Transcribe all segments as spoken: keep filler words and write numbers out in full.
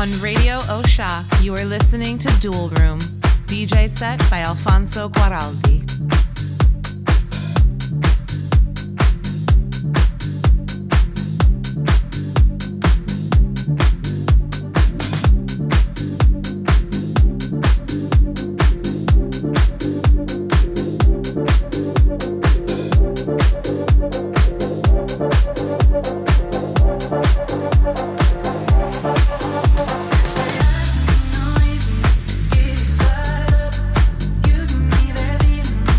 On Radio Osha, you are listening to Dual Room, D J set by Alfonso Guaraldi. Noises, get fired up. You give me that feeling.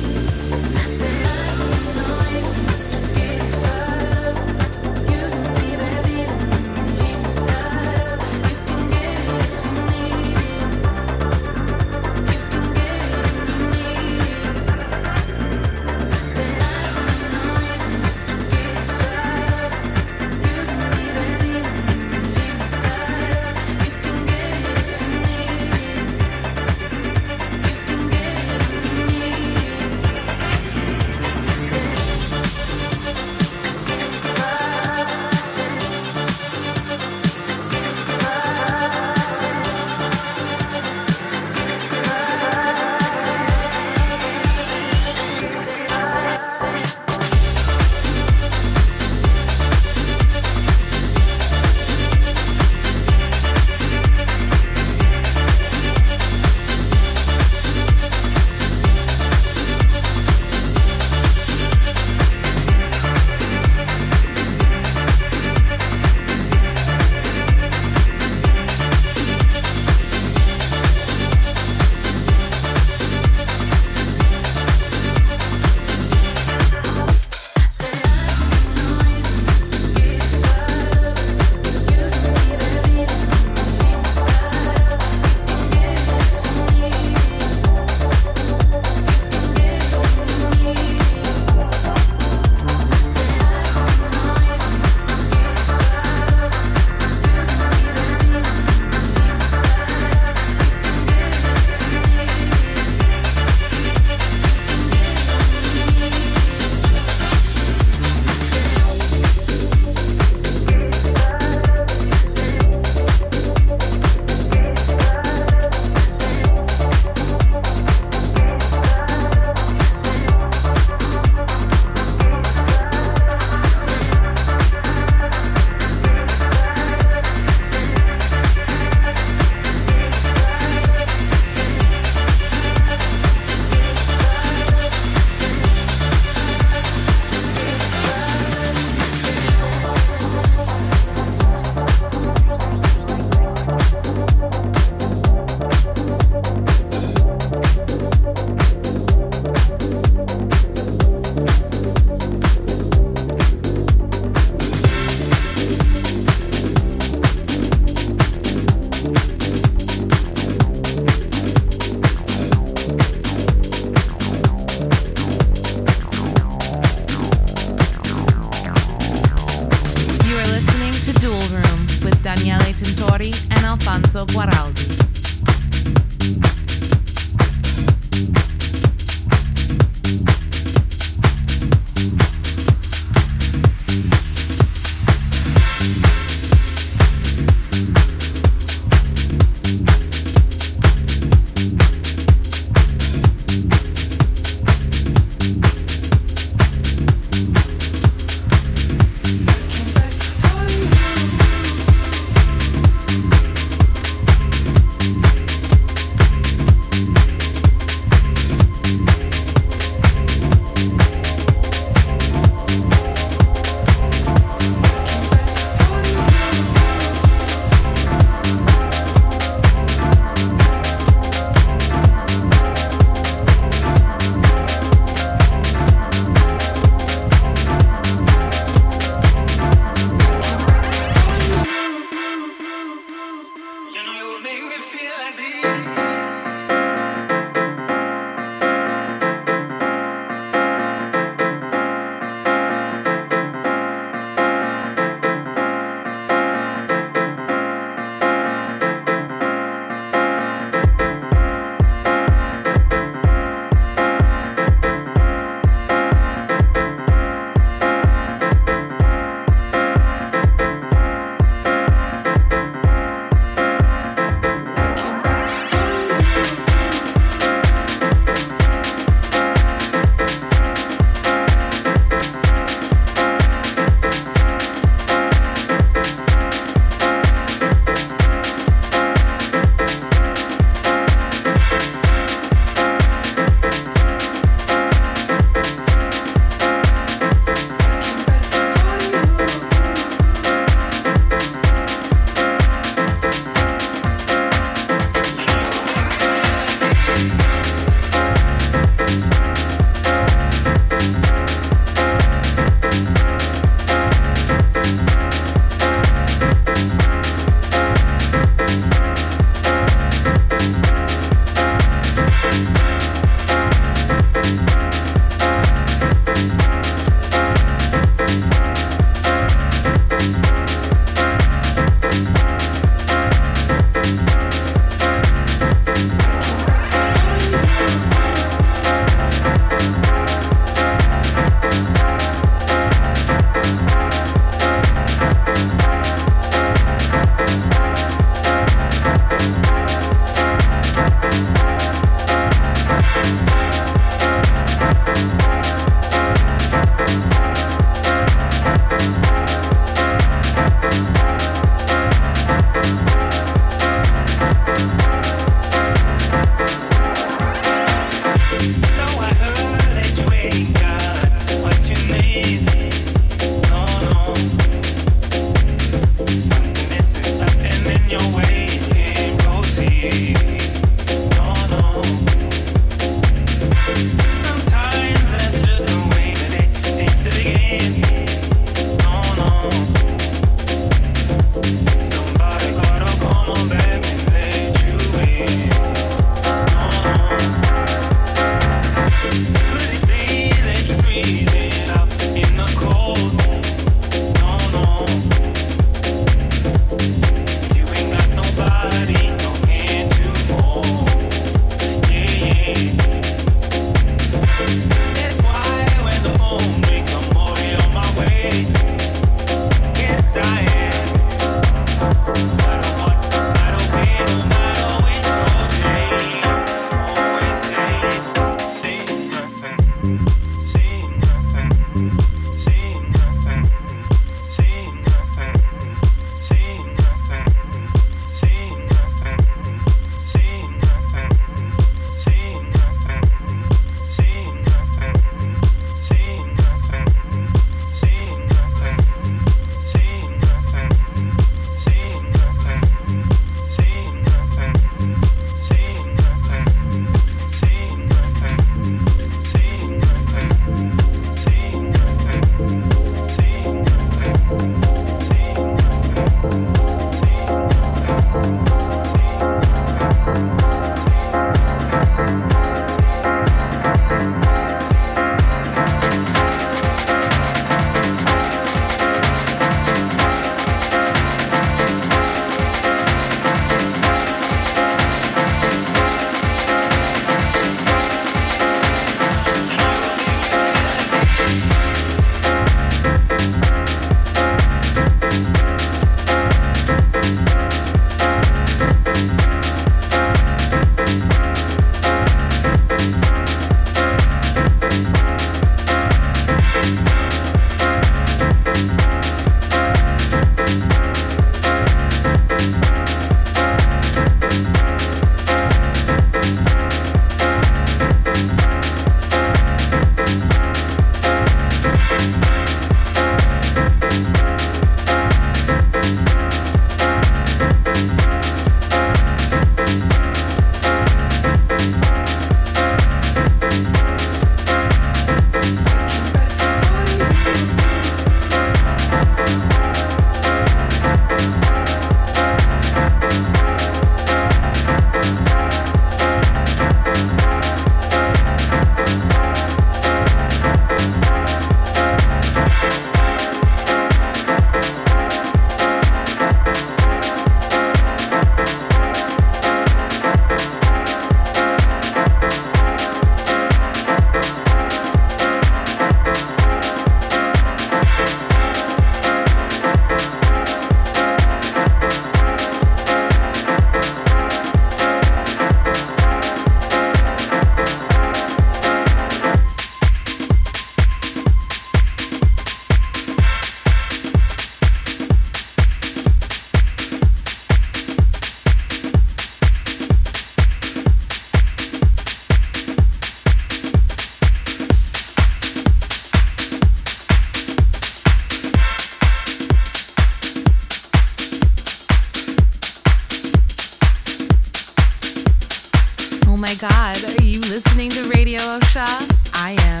God, are you listening to Radio Osha? I am.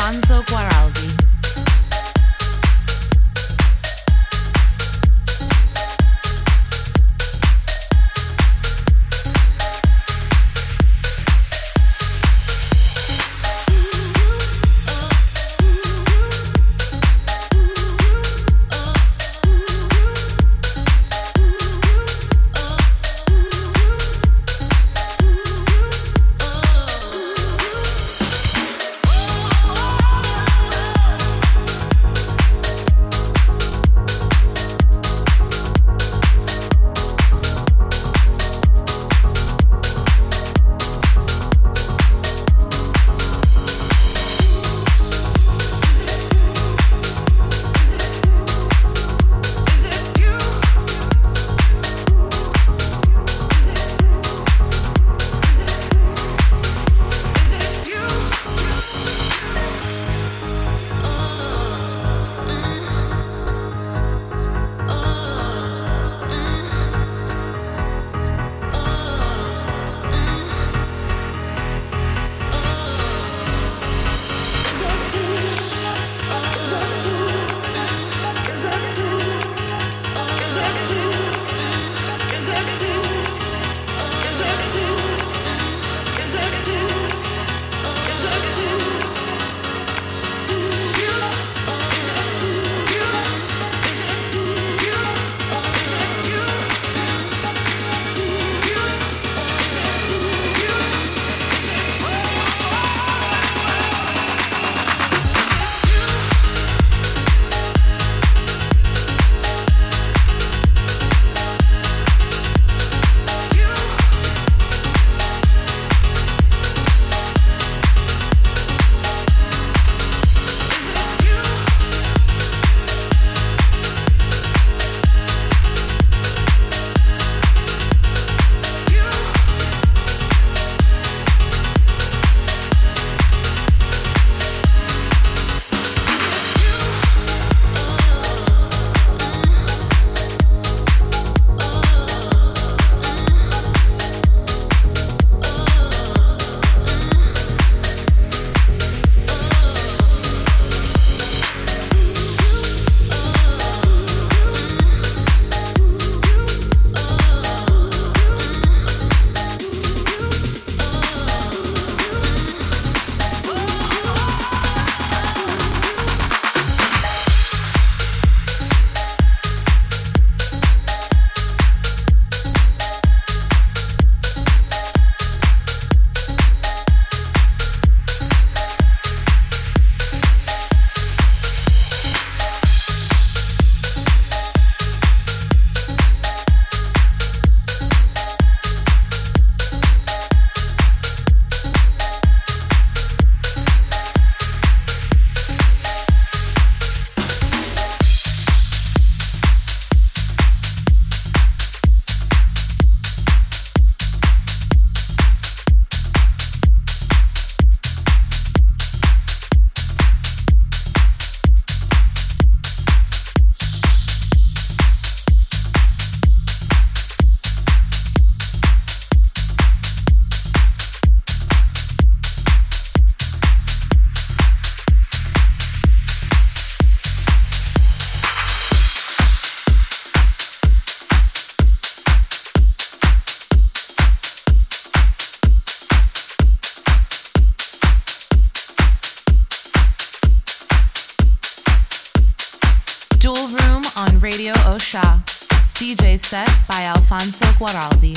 Alfonso Guaraldi. Dual Room on Radio Osha. D J set by Alfonso Guaraldi.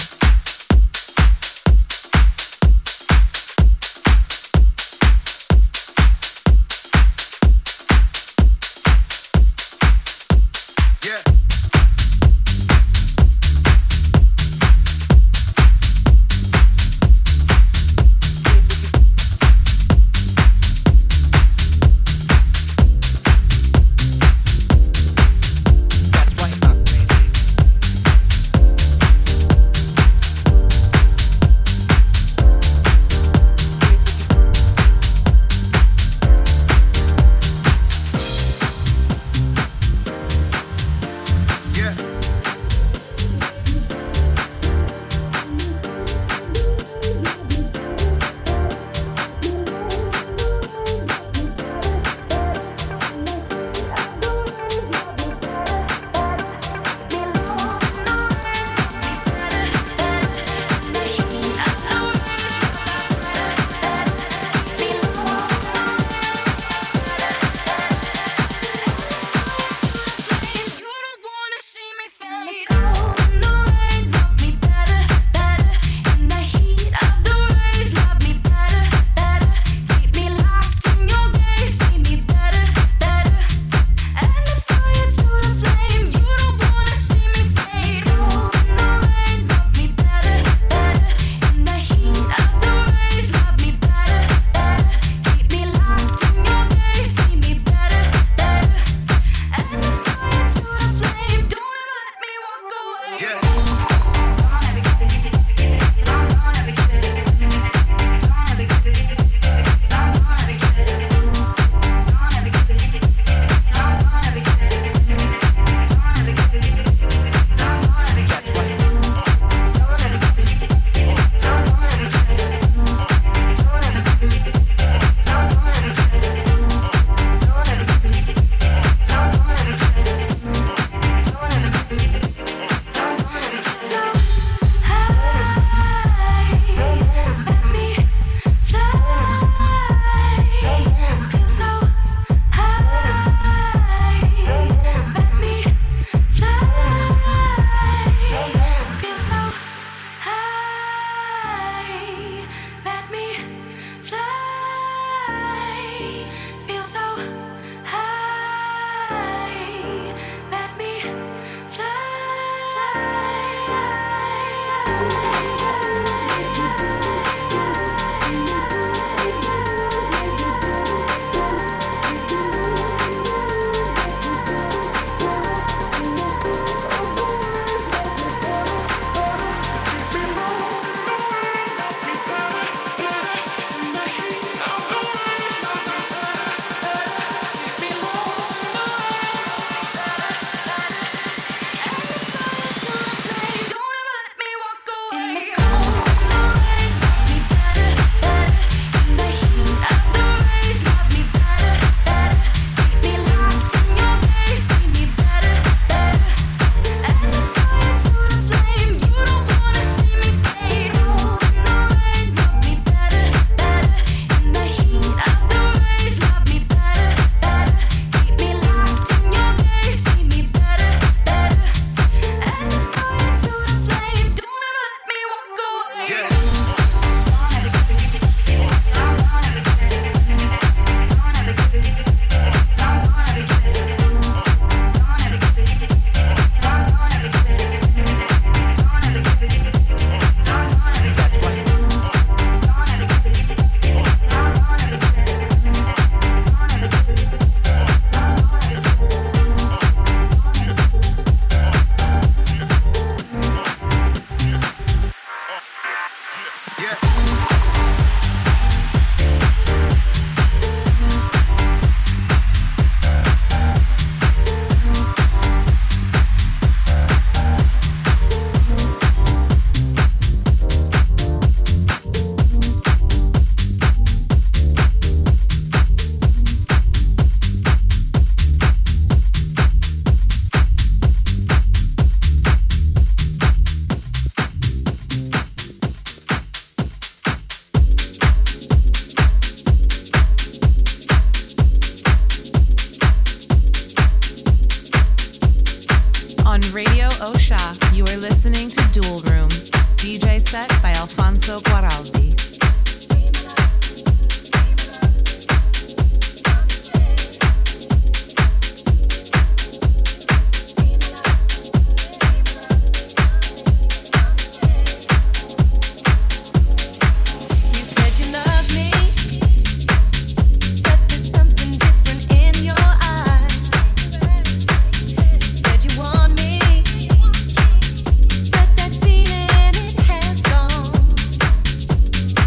Guaraldi. That feeling, it has gone.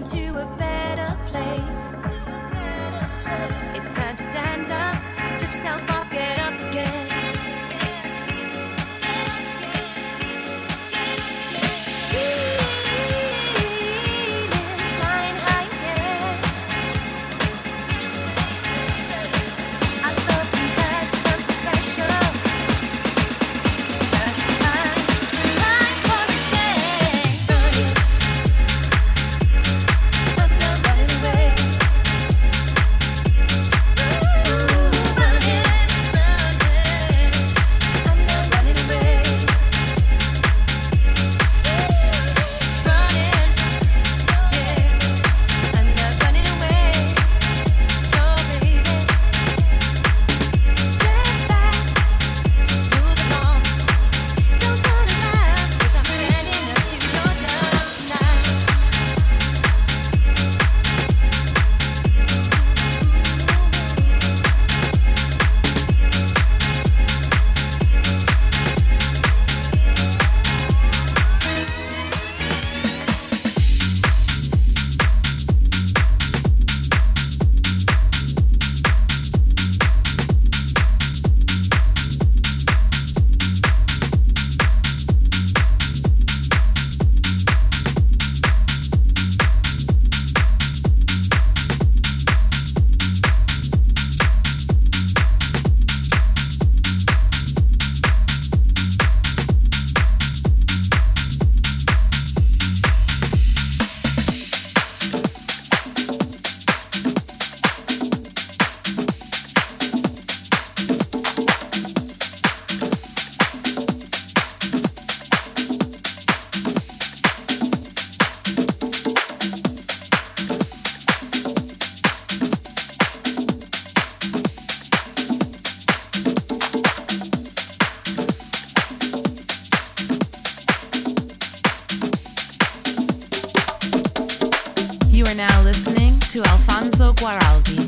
to Alfonso Guaraldi.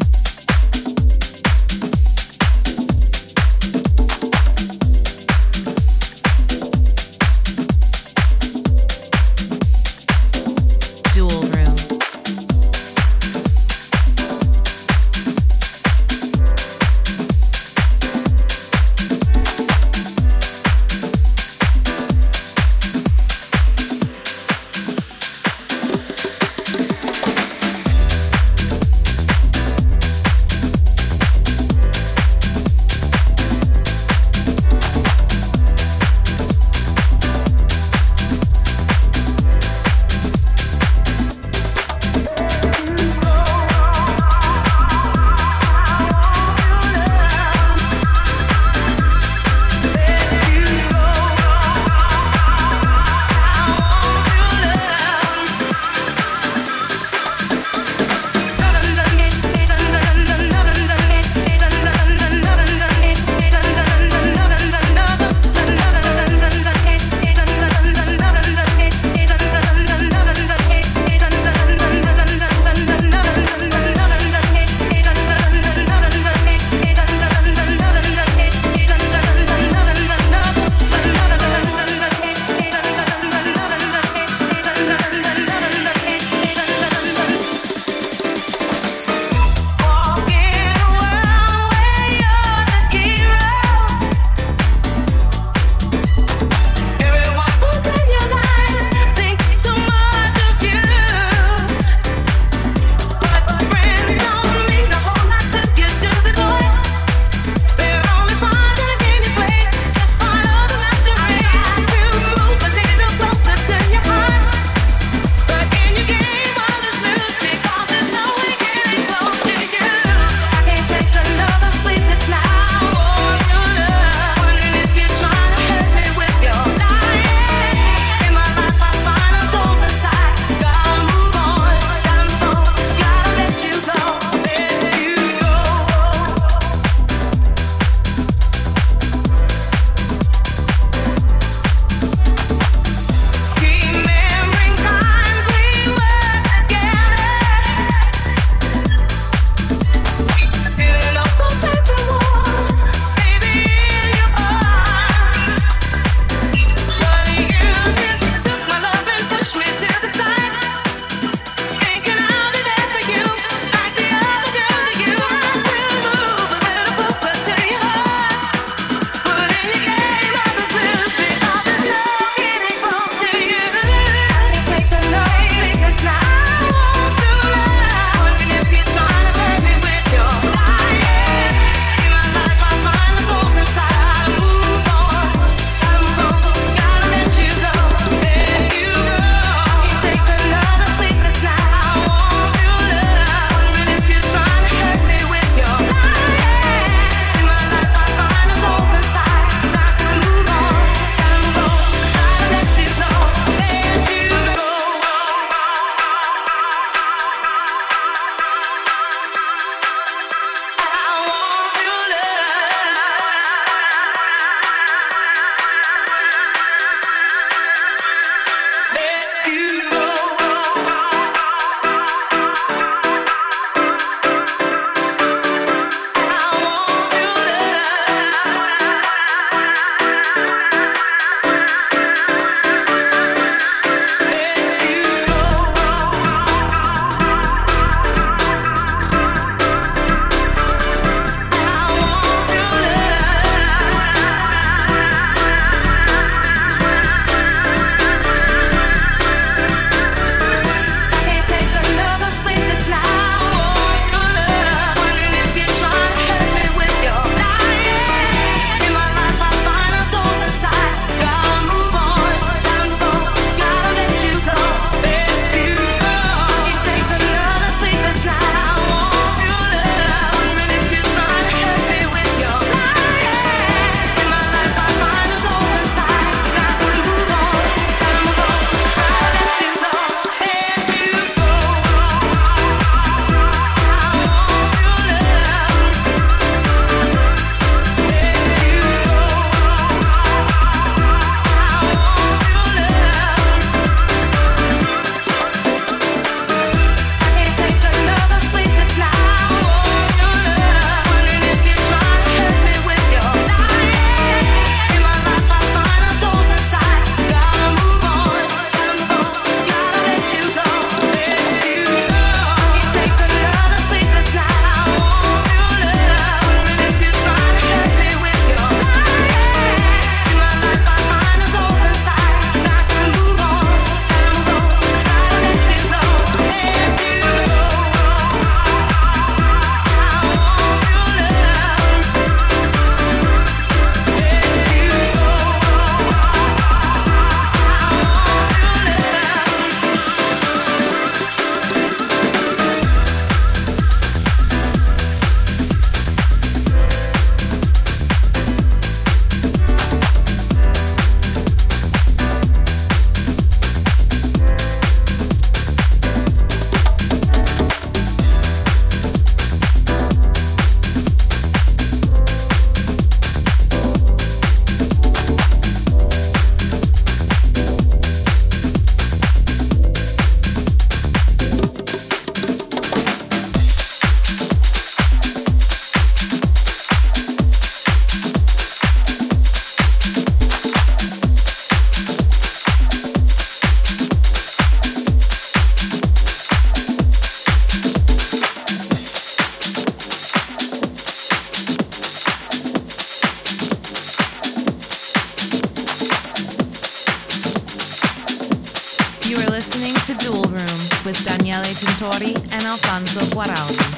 with Daniele Tintori and Alfonso Guaraldi.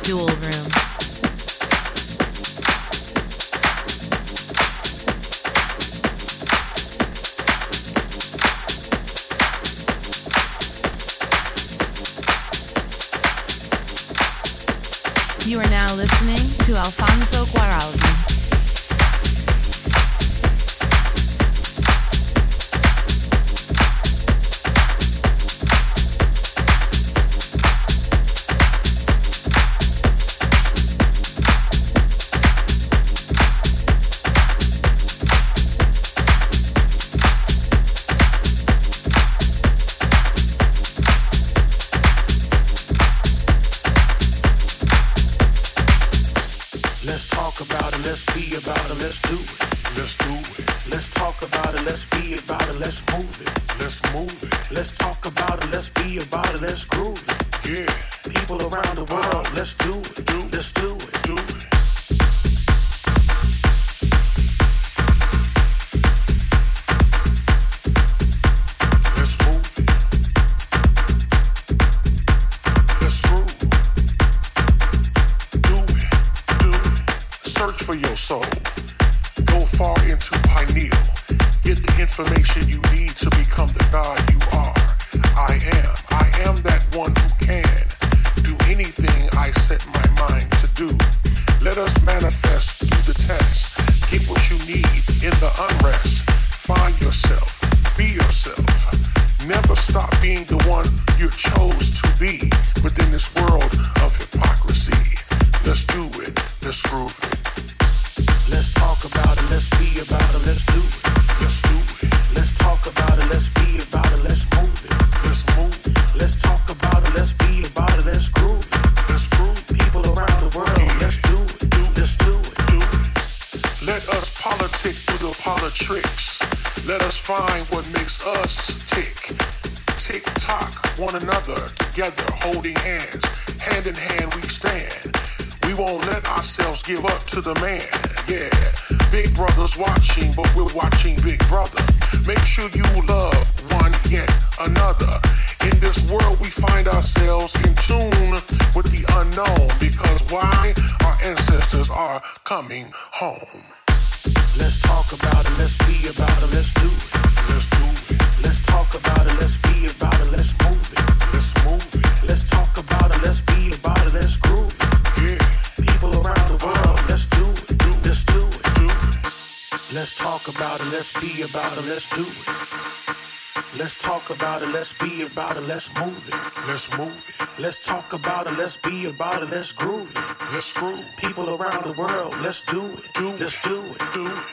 Dual Room. You are now listening to Alfonso Guaraldi. Let's talk about it, let's be about it, let's do it. Let's do it. Let's talk about it, let's be about it, let's move it. Let's move it. Let's talk about it, let's be about it, let's groove it. Yeah. People around the world, uh, let's do it. Do, let's do it. Do it. For your soul, go far into pineal, get the information you need to become the God you are. I am, I am that one who can do anything I set my mind to do. Let us manifest through the test, get what you need in the unrest. Find yourself, be yourself, never stop being the one you chose to be within this world of hypocrisy. Let's do it, let's groove it. Let's talk about it, let's be about it, let's do it. Let's do it. Let's talk about it, let's be about it, let's move it. Let's move it. Let's talk about it, let's be about it, let's groove it. Let's groove it. People around the world, yeah. Let's do it. Do, let's do it. Do it. Let us politic through the politricks. Let us find what makes us tick. Tick tock one another together, holding hands. Hand in hand we stand. We won't let ourselves give up to the man, yeah. Big brother's watching, but we're watching Big Brother. Make sure you love one yet another. In this world we find ourselves in tune with the unknown, because why? Our ancestors are coming home. Let's talk about it, let's be about it, let's do it. Let's do it. Let's talk about it, let's be about it, let's move it. Let's move it. Let's talk about it, let's be about it, let's groove it. Yeah. People around the world, uh, let's do it. Do, let's do it. Do it. Let's talk about it, let's be about it, let's do it. Let's talk about it, let's be about it, let's move it. Let's move it. Let's talk about it, let's be about it, let's groove it. Let's groove. People around the world, let's do it. Do let's do it. Do it.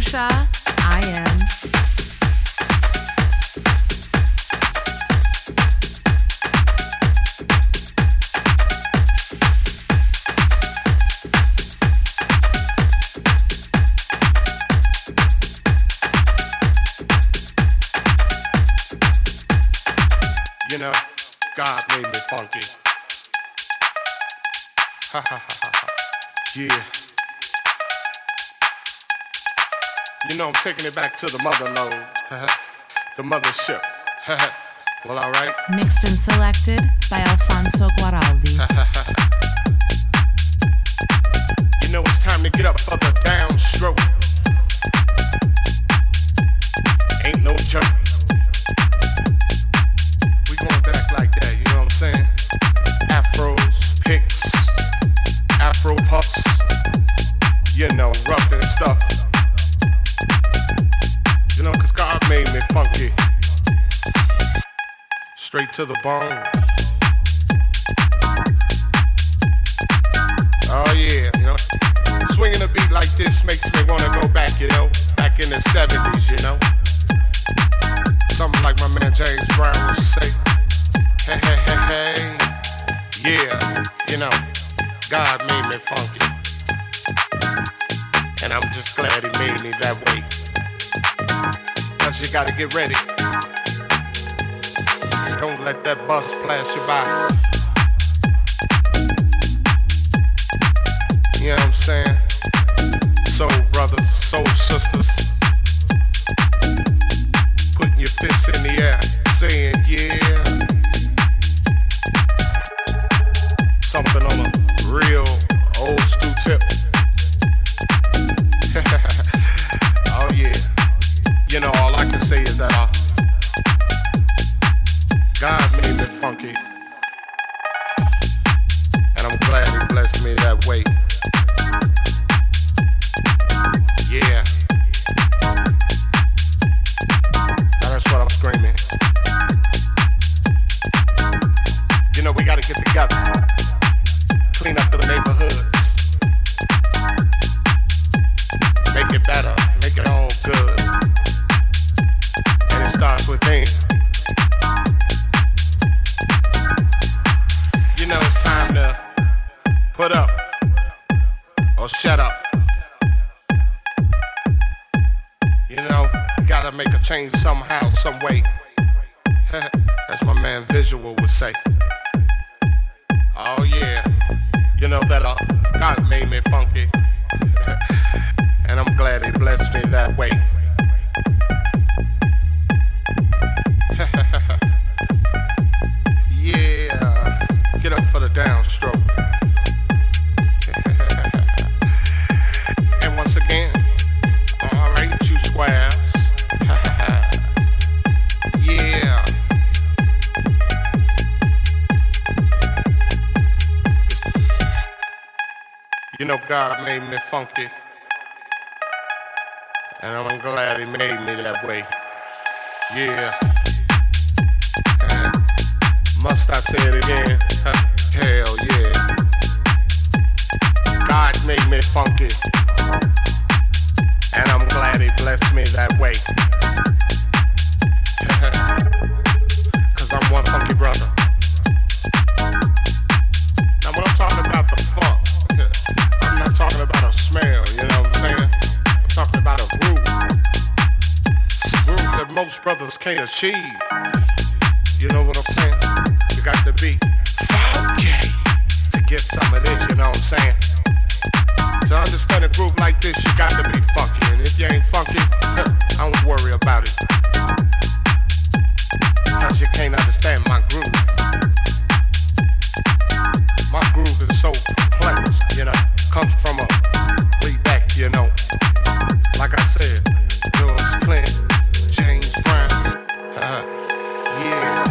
Russia, I am. You know, God made me funky. Ha ha ha ha ha. Yeah. You know I'm taking it back to the mother lode. The mothership. Well, alright. Mixed and selected by Alfonso Guaraldi. You know it's time to get up for the downstroke. Ain't no joke. We going back like that, you know what I'm saying? Afros, picks, afro puffs, you know, rough and stuff. You know, cause God made me funky. Straight to the bone. Oh yeah, you know. Swinging a beat like this makes me wanna go back, you know. Back in the seventies, you know. Something like my man James Brown would say. Hey, hey, hey, hey. Yeah, you know, God made me funky. And I'm just glad he made me that way. Cause you gotta get ready. Don't let that bus pass you by. You know what I'm saying? Soul brothers, soul sisters. Putting your fists in the air, saying yeah. Something on a real old school tip. Oh yeah. You know, all I can say is that uh, God made me funky. And I'm glad he blessed me that way. Yeah. Now that's what I'm screaming. You know, we gotta get together. Clean up the neighborhoods. Make it better. Make it all good. And it starts within. You know it's time to put up or shut up. You know, you gotta make a change somehow, some way. As my man Visual would say. Oh yeah, you know that uh, God made me funky. And I'm glad he blessed me that way. Yeah, get up for the downstroke. And once again, alright, you squares. Yeah. You know God made me funky. And I'm glad he made me that way. Yeah. Must I say it again? Hell yeah. God made me funky. And I'm glad he blessed me that way. Cause I'm one funky brother. Now when I'm talking about the funk, I'm not talking about a smell, you know what I'm saying? I'm talking about a groove. A groove that most brothers can't achieve. You know what I'm saying? You got to be funky to get some of this, you know what I'm saying? To understand a groove like this, you got to be funky. And if you ain't funky, I don't worry about it. Cause you can't understand my groove. My groove is so complex, you know. Comes from a way back, you know. Like I said, George Clinton, James Brown. Uh, yeah.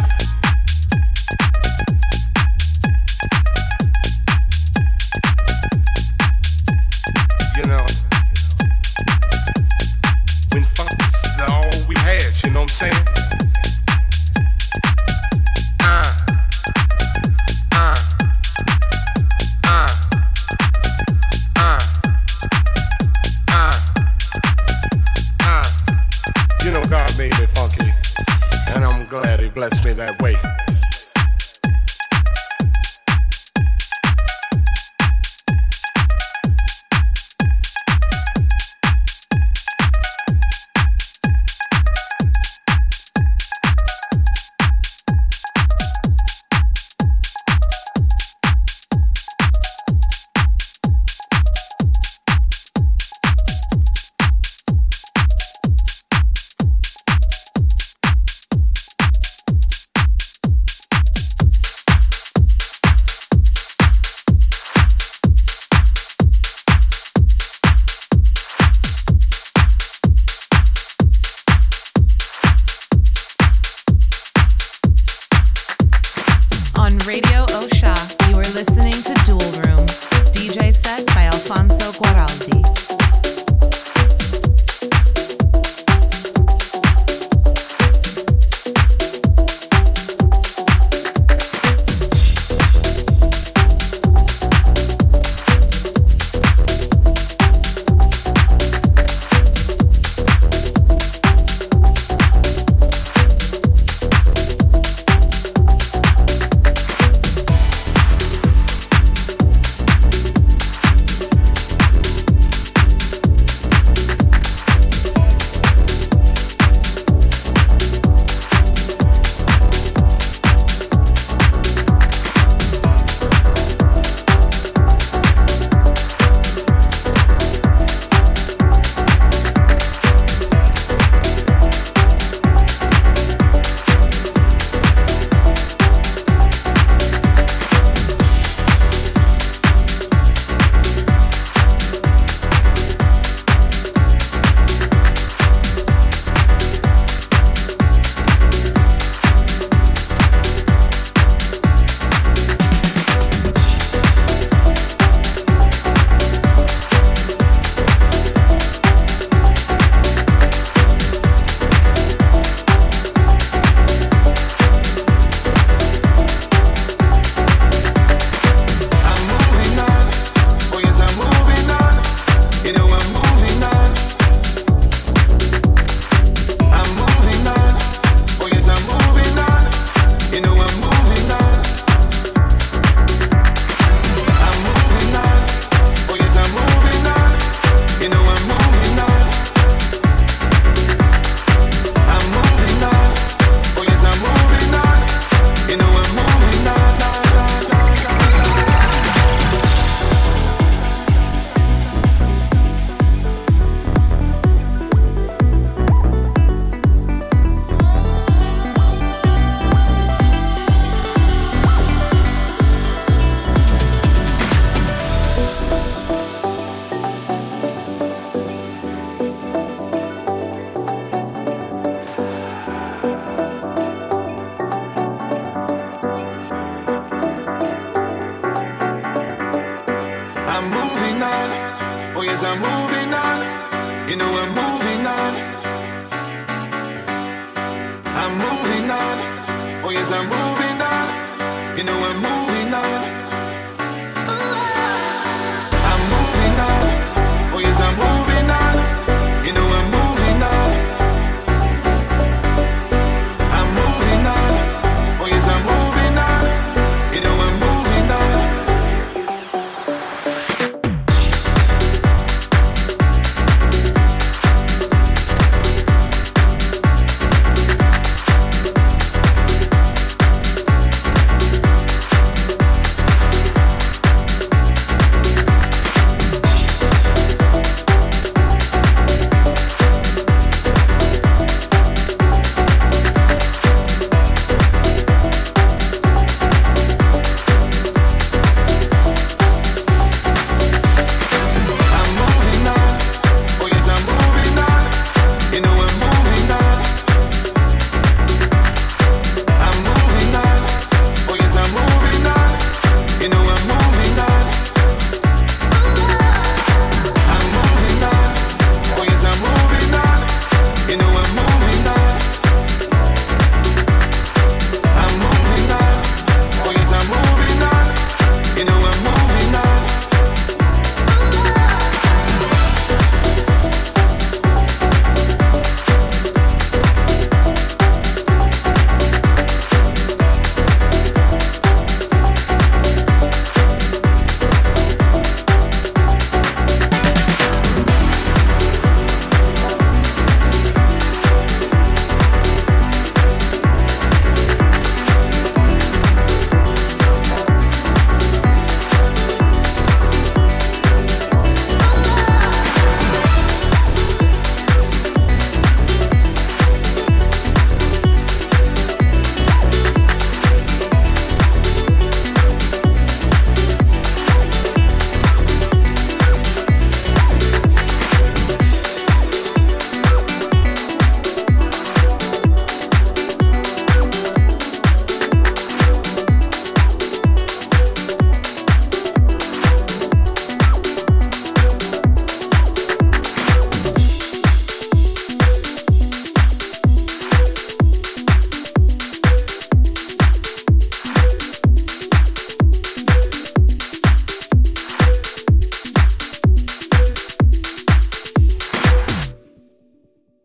yes, I'm moving on. You know I'm moving on. I'm moving on. Oh yes, I'm moving on.